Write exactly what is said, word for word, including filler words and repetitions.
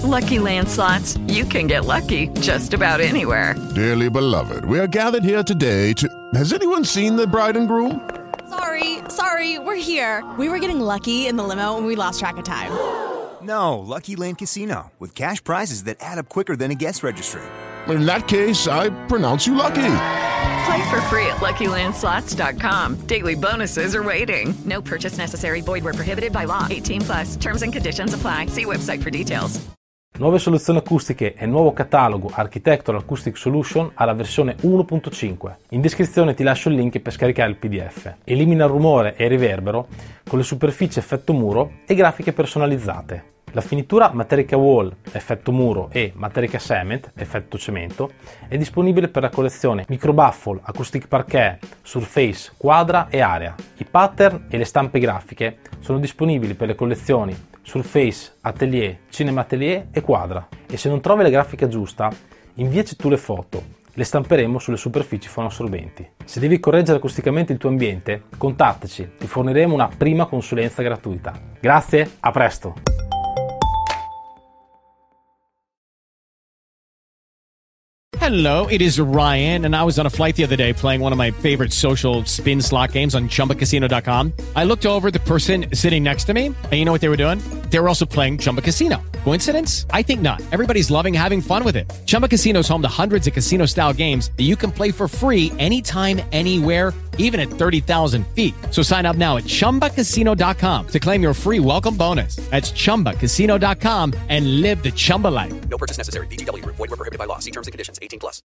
Lucky Land Slots, you can get lucky just about anywhere. Dearly beloved, we are gathered here today to... Has anyone seen the bride and groom? Sorry, sorry, we're here. We were getting lucky in the limo and we lost track of time. No, Lucky Land Casino, with cash prizes that add up quicker than a guest registry. In that case, I pronounce you lucky. Play for free at lucky land slots dot com. Daily bonuses are waiting. No purchase necessary. Void where prohibited by law. eighteen plus. Terms and conditions apply. See website for details. Nuove soluzioni acustiche e nuovo catalogo Architectural Acoustic Solution alla versione uno punto cinque. In descrizione ti lascio il link per scaricare il P D F. Elimina il rumore e il riverbero con le superfici effetto muro e grafiche personalizzate. La finitura Materica Wall effetto muro e Materica Cement effetto cemento è disponibile per la collezione Microbaffle, Acoustic Parquet, Surface, Quadra e Area. I pattern e le stampe grafiche sono disponibili per le collezioni Surface, Atelier, Cinema Atelier e Quadra. E se non trovi la grafica giusta, inviaci tu le foto. Le stamperemo sulle superfici fonoassorbenti. Se devi correggere acusticamente il tuo ambiente, contattaci, ti forniremo una prima consulenza gratuita. Grazie, a presto! Hello, it is Ryan, and I was on a flight the other day playing one of my favorite social spin slot games on chumba casino dot com. I looked over at the person sitting next to me, and you know what they were doing? They were also playing Chumba Casino. Coincidence? I think not. Everybody's loving having fun with it. Chumba Casino is home to hundreds of casino-style games that you can play for free anytime, anywhere, even at thirty thousand feet. So sign up now at chumba casino dot com to claim your free welcome bonus. That's chumba casino dot com and live the Chumba life. No purchase necessary. V G W. Void where prohibited by law. See terms and conditions. eighteen plus.